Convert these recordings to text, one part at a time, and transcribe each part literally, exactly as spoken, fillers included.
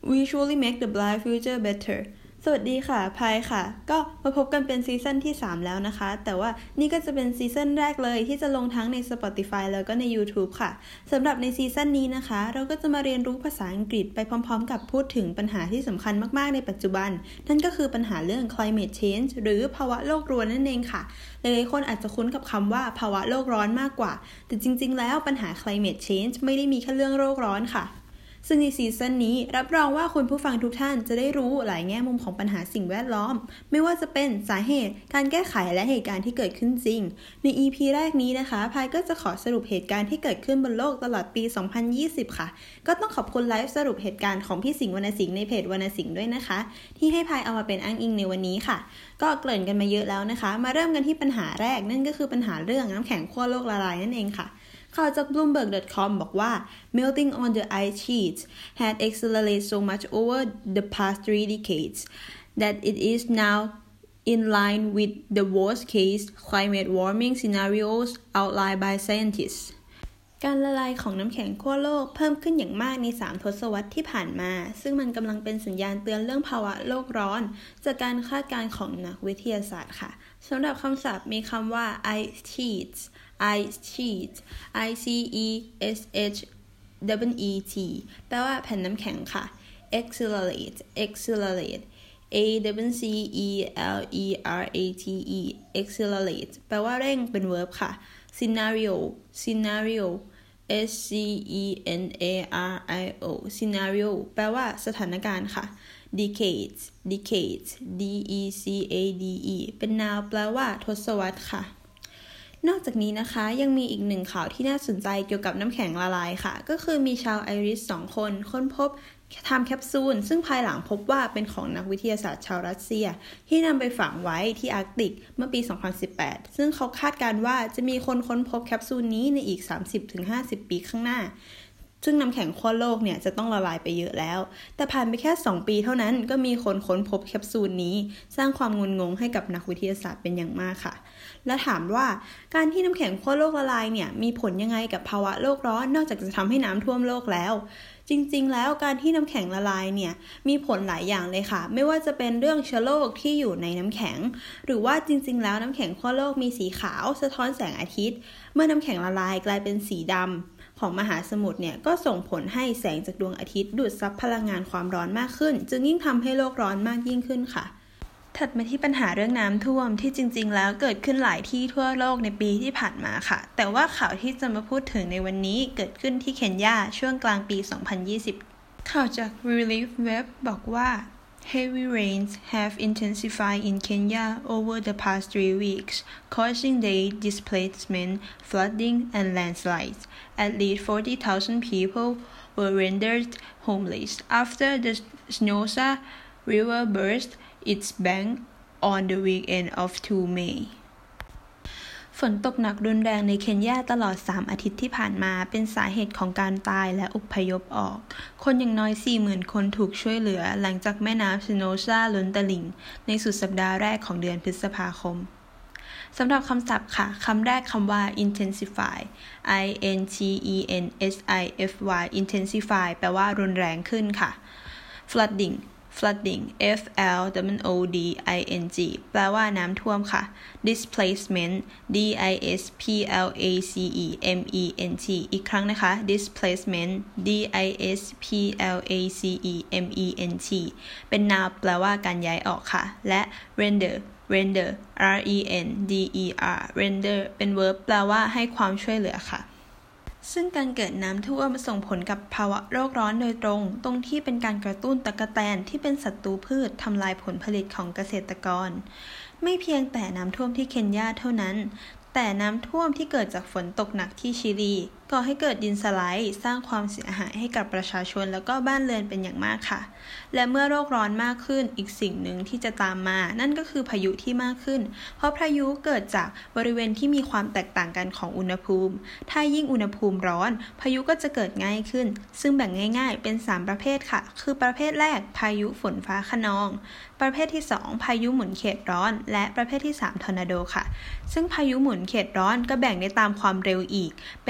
we truly make the bright future better สวัสดีค่ะพายค่ะก็มาพบกันเป็นซีซั่นที่สามแล้วนะคะแต่ว่านี่ก็จะเป็นซีซั่นแรกเลยที่จะลงทั้งใน Spotify แล้วก็ใน YouTube ค่ะสำหรับในซีซั่นนี้นะคะเราก็จะมาเรียนรู้ภาษาอังกฤษไปพร้อมๆกับพูดถึงปัญหาที่สำคัญมากๆในปัจจุบันนั่นก็คือปัญหาเรื่อง climate change หรือภาวะโลกร้อนนั่นเองค่ะหลายๆคนอาจจะคุ้นกับคำว่าภาวะโลกร้อนมากกว่าแต่จริงๆแล้วปัญหา climate change ไม่ได้มีแค่เรื่องโลกร้อนค่ะซึ่งในซีซั่นนี้รับรองว่าคุณผู้ฟังทุกท่านจะได้รู้หลายแง่มุมของปัญหาสิ่งแวดล้อมไม่ว่าจะเป็นสาเหตุการแก้ไขและเหตุการณ์ที่เกิดขึ้นจริงใน อี พี แรกนี้นะคะพายก็จะขอสรุปเหตุการณ์ที่เกิดขึ้นบนโลกตลอดปีสองพันยี่สิบค่ะก็ต้องขอบคุณไลฟ์สรุปเหตุการณ์ของพี่สิงห์วรรณสิงห์ในเพจวรรณสิงห์ด้วยนะคะที่ให้พายเอามาเป็นอ้างอิงในวันนี้ค่ะก็เกริ่นกันมาเยอะแล้วนะคะมาเริ่มกันที่ปัญหาแรกนั่นก็คือปัญหาเรื่องน้ำแข็งขั้วโลกละลายนั่นเองค่ะข่าวจาก บลูมเบิร์ก ดอท คอม บอกว่า melting on the ice sheets had accelerated so much over the past three decades that it is now in line with the worst-case climate warming scenarios outlined by scientists การละลายของน้ำแข็งขั้วโลกเพิ่มขึ้นอย่างมากในสามทศวรรษที่ผ่านมาซึ่งมันกำลังเป็นสัญญาณเตือนเรื่องภาวะโลกร้อนจากการคาดการณ์ของนักวิทยาศาสตร์ค่ะสำหรับคำศัพท์มีคำว่า ice sheets ice sheet I C E S H E E T แปลว่าแผ่นน้ำแข็งค่ะ accelerate accelerate A C E L E R A T E accelerate แปลว่าเร่งเป็น verb ค่ะ scenario scenario S C E N A R I O scenario แปลว่าสถานการณ์ค่ะ decades decades D E C A D E เป็น noun แปลว่าทศวรรษค่ะนอกจากนี้นะคะยังมีอีกหนึ่งข่าวที่น่าสนใจเกี่ยวกับน้ำแข็งละลายค่ะก็คือมีชาวไอริสสองคนค้นพบไทม์แคปซูลซึ่งภายหลังพบว่าเป็นของนักวิทยาศาสตร์ชาวรัสเซียที่นำไปฝังไว้ที่อาร์กติกเมื่อปีสองพันสิบแปดซึ่งเขาคาดการณ์ว่าจะมีคนค้นพบแคปซูลนี้ในอีก สามสิบถึงห้าสิบ ปีข้างหน้าซึ่งน้ำแข็งขั้วโลกเนี่ยจะต้องละลายไปเยอะแล้วแต่ผ่านไปแค่สองปีเท่านั้นก็มีคนค้นพบแคปซูลนี้สร้างความงุนงงให้กับนักวิทยาศาสตร์เป็นอย่างมากค่ะและถามว่าการที่น้ำแข็งขั้วโลกละลายเนี่ยมีผลยังไงกับภาวะโลกร้อนนอกจากจะทำให้น้ำท่วมโลกแล้วจริงๆแล้วการที่น้ำแข็งละลายเนี่ยมีผลหลายอย่างเลยค่ะไม่ว่าจะเป็นเรื่องเชื้อโรคที่อยู่ในน้ำแข็งหรือว่าจริงๆแล้วน้ำแข็งขั้วโลกมีสีขาวสะท้อนแสงอาทิตย์เมื่อน้ำแข็งละลายกลายเป็นสีดำของมหาสมุทรเนี่ยก็ส่งผลให้แสงจากดวงอาทิตย์ดูดซับพลังงานความร้อนมากขึ้นจึงยิ่งทำให้โลกร้อนมากยิ่งขึ้นค่ะถัดมาที่ปัญหาเรื่องน้ำท่วมที่จริงๆแล้วเกิดขึ้นหลายที่ทั่วโลกในปีที่ผ่านมาค่ะแต่ว่าข่าวที่จะมาพูดถึงในวันนี้เกิดขึ้นที่เคนยาช่วงกลางปีสองพันยี่สิบข่าวจาก Relief Web บอกว่า Heavy rains have intensified in Kenya over the past three weeks, causing day displacement, flooding, and landslides. At least forty thousand people were rendered homeless after the Snosa River burst its bank on the weekend of the second of May. ฝนตกหนักรุนแรงในเคนยาตลอดสามอาทิตย์ที่ผ่านมาเป็นสาเหตุของการตายและอพยพออกคนอย่างน้อย สี่หมื่น คนถูกช่วยเหลือหลังจากแม่น้ำสโนซาล้นตลิ่งในสุดสัปดาห์แรกของเดือนพฤษภาคมสำหรับคำศัพท์ค่ะคำแรกคำว่า intensify I N T E N S I F Y intensify แปลว่ารุนแรงขึ้นค่ะ flooding flooding F L O O D I N G แปลว่าน้ำท่วมค่ะ displacement D I S P L A C E M E N T อีกครั้งนะคะ displacement D I S P L A C E M E N T เป็น noun แปลว่าการย้ายออกค่ะและ render render R E N D E R render เป็น verb แปลว่าให้ความช่วยเหลือค่ะซึ่งการเกิดน้ำท่วมส่งผลกับภาวะโลกร้อนโดยตรงตรงที่เป็นการกระตุ้นตั๊กแตนที่เป็นศัตรูพืชทำลายผลผลิตของเกษตรกรไม่เพียงแต่น้ำท่วมที่เคนยาเท่านั้นแต่น้ำท่วมที่เกิดจากฝนตกหนักที่ชิลีก่อให้เกิดดินสไลด์สร้างความเสียหายให้กับประชาชนแล้วก็บ้านเรือนเป็นอย่างมากค่ะและเมื่อโลกร้อนมากขึ้นอีกสิ่งหนึ่งที่จะตามมานั่นก็คือพายุที่มากขึ้นเพราะพายุเกิดจากบริเวณที่มีความแตกต่างกันของอุณหภูมิถ้ายิ่งอุณหภูมิร้อนพายุก็จะเกิดง่ายขึ้นซึ่งแบ่งง่ายๆเป็นสามประเภทค่ะคือประเภทแรกพายุฝนฟ้าคะนองประเภทที่สองพายุหมุนเขตร้อนและประเภทที่สามทอร์นาโดค่ะซึ่งพายุหมุนเขตร้อนก็แบ่งได้ตามความเร็วอีกเป็น deep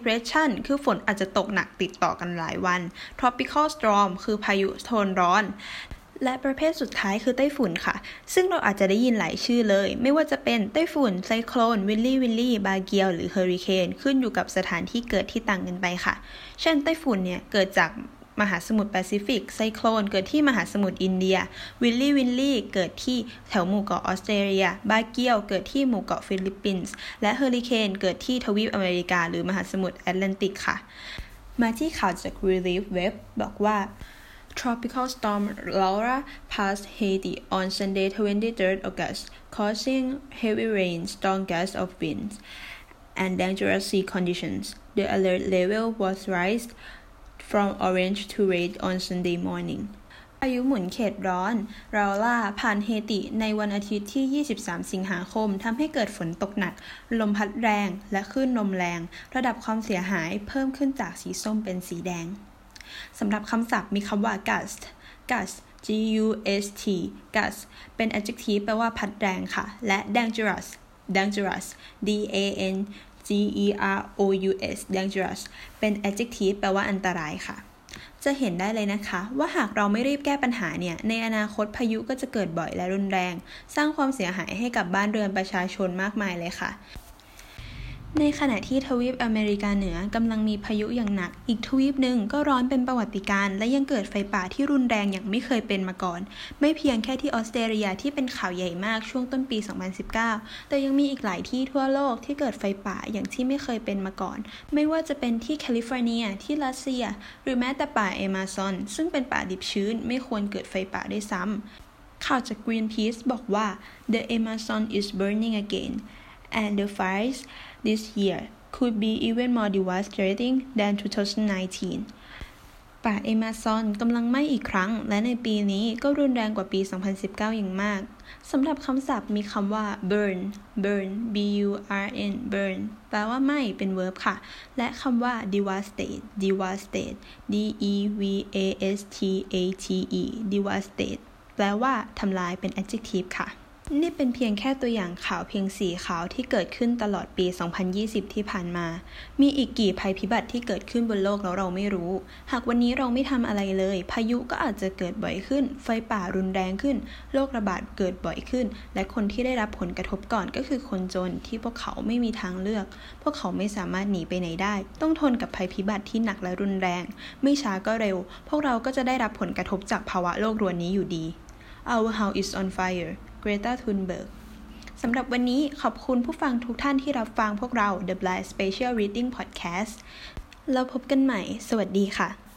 depression คือฝนอาจจะตกหนักติดต่อกันหลายวัน tropical storm คือพายุโทนร้อนและประเภทสุดท้ายคือไต้ฝุ่นค่ะซึ่งเราอาจจะได้ยินหลายชื่อเลยไม่ว่าจะเป็นไต้ฝุ่นไซโคลนวิลลี่วิลลี่บาเกียวหรือเฮอริเคนขึ้นอยู่กับสถานที่เกิดที่ต่างกันไปค่ะเช่นไต้ฝุ่นเนี่ยเกิดจากมหาสมุทรแปซิฟิกไซโคลนเกิดที่มหาสมุทรอินเดียวิลลี่วิลลี่เกิดที่แถวหมู่เกาะออสเตรเลียบาเกียวเกิดที่หมู่เกาะฟิลิปปินส์และเฮอริเคนเกิดที่ทวีปอเมริกาหรือมหาสมุทรแอตแลนติกค่ะมาที่ข่าวจาก Relief Web บอกว่าTropical storm Laura passed Haiti on Sunday, twenty-third August, causing heavy rain, strong gusts of winds, and dangerous sea conditions. The alert level was raised from orange to red on Sunday morning. พายุหมุนเขตร้อนราล่าผ่านเฮติในวันอาทิตย์ที่ ยี่สิบสาม สิงหาคมทำให้เกิดฝนตกหนักลมพัดแรงและคลื่นลมแรงระดับความเสียหายเพิ่มขึ้นจากสีส้มเป็นสีแดงสำหรับคำศัพท์มีคำว่า gust gust g u s t gust เป็น adjective แปลว่าพัดแรงค่ะและ dangerous dangerous d a n g e r o u s dangerous เป็น adjective แปลว่าอันตรายค่ะจะเห็นได้เลยนะคะว่าหากเราไม่รีบแก้ปัญหาเนี่ยในอนาคตพายุก็จะเกิดบ่อยและรุนแรงสร้างความเสียหายให้กับบ้านเรือนประชาชนมากมายเลยค่ะในขณะที่ทวีปอเมริกาเหนือกำลังมีพายุอย่างหนักอีกทวีปหนึ่งก็ร้อนเป็นประวัติการณ์และยังเกิดไฟป่าที่รุนแรงอย่างไม่เคยเป็นมาก่อนไม่เพียงแค่ที่ออสเตรเลียที่เป็นข่าวใหญ่มากช่วงต้นปีสองพันสิบเก้าแต่ยังมีอีกหลายที่ทั่วโลกที่เกิดไฟป่าอย่างที่ไม่เคยเป็นมาก่อนไม่ว่าจะเป็นที่แคลิฟอร์เนียที่รัสเซียหรือแม้แต่ป่าแอมะซอนซึ่งเป็นป่าดิบชื้นไม่ควรเกิดไฟป่าด้วยซ้ำข่าวจาก Greenpeace บอกว่า The Amazon is burning again and the fires this year could be even more devastating than twenty nineteen ป่าเอมะซอนกำลังไหม้อีกครั้งและในปีนี้ก็รุนแรงกว่าปีสองพันสิบเก้าอย่างมากสำหรับคำศัพท์มีคำว่า burn burn b u r n burn แปลว่าไหม้เป็น verb ค่ะและคำว่า devastate devastate d e v a s t a t e devastate แปลว่าทำลายเป็น adjective ค่ะนี่เป็นเพียงแค่ตัวอย่างข่าวเพียงสี่ข่าวที่เกิดขึ้นตลอดปีสองพันยี่สิบที่ผ่านมามีอีกกี่ภัยพิบัติที่เกิดขึ้นบนโลกแล้วเราไม่รู้หากวันนี้เราไม่ทำอะไรเลยพายุก็อาจจะเกิดบ่อยขึ้นไฟป่ารุนแรงขึ้นโรคระบาดเกิดบ่อยขึ้นและคนที่ได้รับผลกระทบก่อนก็คือคนจนที่พวกเขาไม่มีทางเลือกพวกเขาไม่สามารถหนีไปไหนได้ต้องทนกับภัยพิบัติที่หนักและรุนแรงไม่ช้าก็เร็วพวกเราก็จะได้รับผลกระทบจากภาวะโลกรวนนี้อยู่ดี Our house is on fire Greta Thunberg สำหรับวันนี้ขอบคุณผู้ฟังทุกท่านที่รับฟังพวกเรา The Blind Special Reading Podcast แล้วพบกันใหม่สวัสดีค่ะ